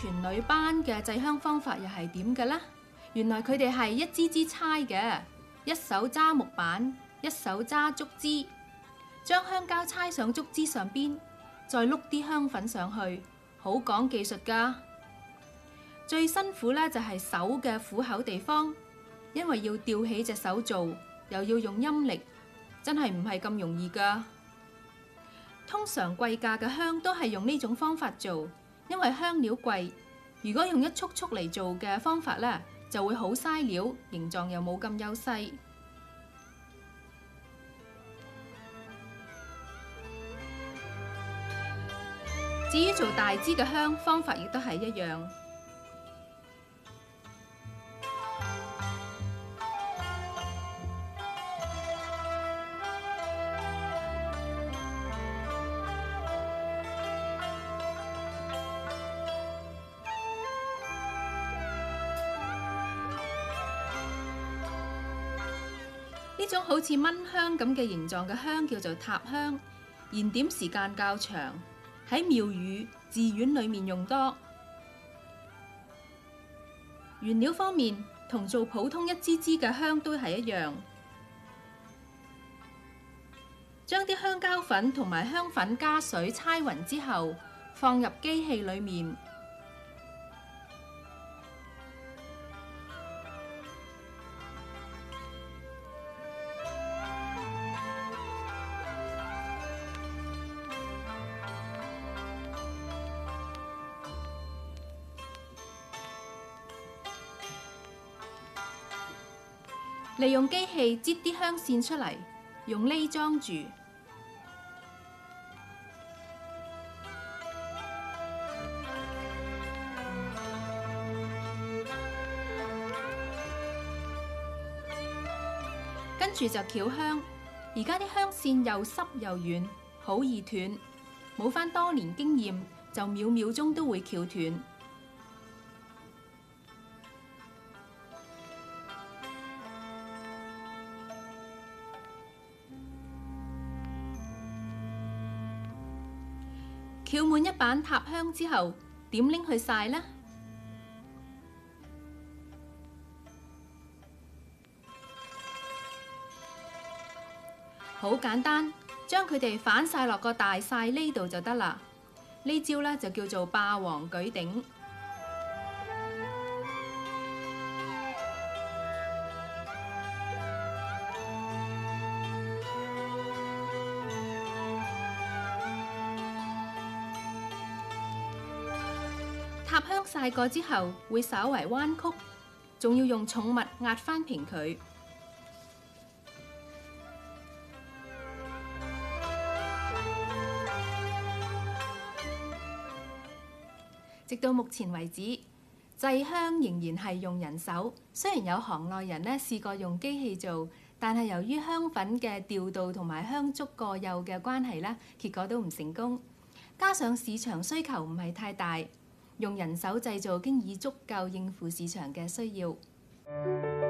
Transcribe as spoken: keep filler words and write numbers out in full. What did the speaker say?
全女班嘅製香方法又係點嘅呢？原來佢哋係一支支猜嘅，一手揸木板，一手揸竹枝，將香膠猜上竹枝上邊，再碌啲香粉上去，好講技術㗎。最辛苦呢就係手嘅虎口地方，因為要吊起隻手做，又要用陰力，真係唔係咁容易㗎。通常貴價嘅香都係用呢種方法做，因為香料貴。如果用一束束嚟做嘅方法呢，就會好嘥料，形狀又冇咁優勢。至於做大支嘅香，方法亦都係一樣。呢種好似蚊香咁嘅形狀嘅香叫做塔香，燃點時間較長，喺廟宇、寺院裏面用多。原料方面，同做普通一支支嘅香都係一樣，將啲香膠粉同埋香粉加水猜勻之後，放入機器裏面。利用機器擠啲香線出嚟，用呢裝住。跟住就翹香。而家啲香線又濕又軟，好易斷。冇返多年經驗，就秒秒鐘都會翹斷。翹滿一板塔香之後，點拎去曬呢？好簡單，將佢哋反曬落個大曬呢度就得啦。呢招呢就叫做霸王舉鼎。塔香曬過之後會稍為彎曲，仲要用重物壓翻平佢。直到目前為止，製香仍然係用人手。雖然有行內人呢試過用機器做，但係由於香粉嘅調度同埋香燭過幼嘅關係呢，結果都唔成功。加上市場需求唔係太大，用人手製造經已足夠應付市場嘅需要。